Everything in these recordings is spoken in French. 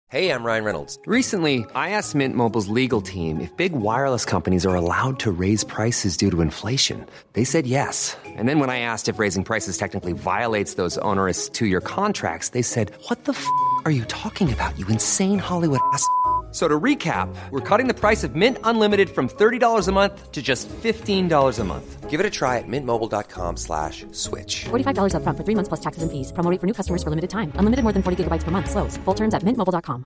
Hey, I'm Ryan Reynolds. Recently, I asked Mint Mobile's legal team if big wireless companies are allowed to raise prices due to inflation. They said yes. And then when I asked if raising prices technically violates those onerous two-year contracts, they said, "What the f*** are you talking about, you insane Hollywood ass?" So to recap, we're cutting the price of Mint Unlimited from $30 a month to just $15 a month. Give it a try at mintmobile.com/switch. $45 up front for 3 months plus taxes and fees. Promo rate for new customers for limited time. Unlimited more than 40 gigabytes per month. Slows full terms at mintmobile.com.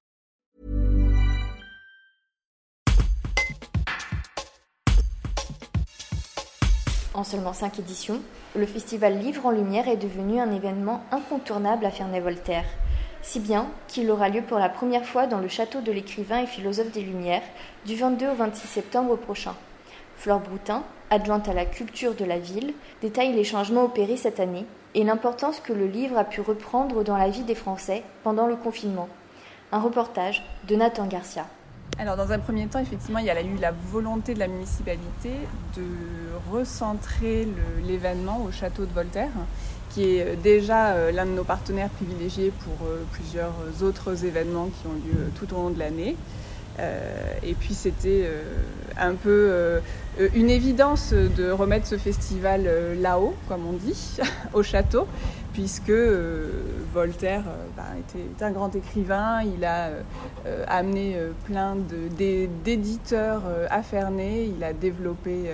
En seulement 5 éditions, le festival Livre en Lumière est devenu un événement incontournable à Ferney-Voltaire. Si bien qu'il aura lieu pour la première fois dans le château de l'écrivain et philosophe des Lumières du 22 au 26 septembre prochain. Flore Broutin, adjointe à la culture de la ville, détaille les changements opérés cette année et l'importance que le livre a pu reprendre dans la vie des Français pendant le confinement. Un reportage de Nathan Garcia. Alors dans un premier temps, effectivement, il y a eu la volonté de la municipalité de recentrer l'événement au château de Voltaire, qui est déjà l'un de nos partenaires privilégiés pour plusieurs autres événements qui ont lieu tout au long de l'année. Et puis c'était un peu une évidence de remettre ce festival là-haut, comme on dit, au château, puisque Voltaire était un grand écrivain. Il a amené plein d'éditeurs à Ferney. Il a développé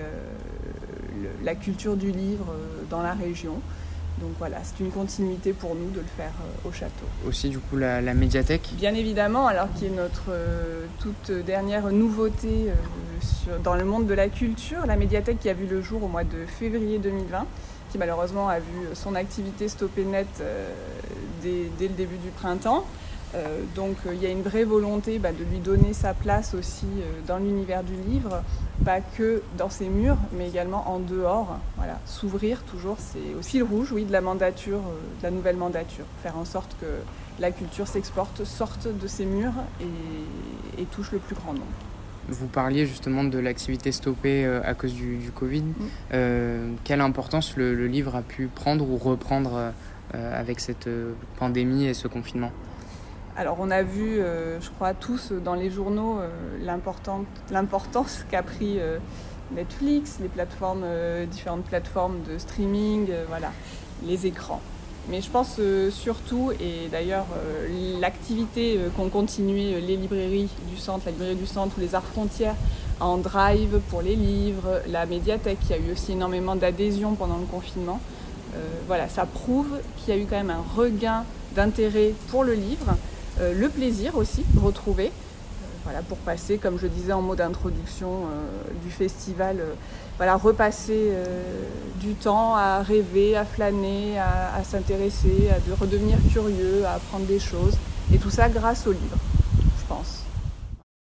la culture du livre dans la région. Donc voilà, c'est une continuité pour nous de le faire au château. Aussi du coup la médiathèque. Bien évidemment, alors qui est notre toute dernière nouveauté dans le monde de la culture, la médiathèque qui a vu le jour au mois de février 2020, qui malheureusement a vu son activité stopper net dès le début du printemps. Donc il y a une vraie volonté de lui donner sa place aussi dans l'univers du livre, pas que dans ses murs, mais également en dehors. Voilà, s'ouvrir toujours, c'est au fil rouge, de la mandature, de la nouvelle mandature. Faire en sorte que la culture s'exporte, sorte de ses murs et touche le plus grand nombre. Vous parliez justement de l'activité stoppée à cause du Covid. Quelle importance le livre a pu prendre ou reprendre avec cette pandémie et ce confinement ? Alors on a vu, je crois tous dans les journaux, l'importance qu'a pris Netflix, les différentes plateformes de streaming, les écrans. Mais je pense surtout, et d'ailleurs l'activité qu'ont continué les librairies du centre, la librairie du centre ou les Arts Frontières en drive pour les livres, la médiathèque qui a eu aussi énormément d'adhésion pendant le confinement. Ça prouve qu'il y a eu quand même un regain d'intérêt pour le livre. Le plaisir aussi retrouvé, pour passer, comme je disais en mot d'introduction du festival, repasser du temps à rêver, à flâner, à s'intéresser, à redevenir curieux, à apprendre des choses, et tout ça grâce au livre, je pense.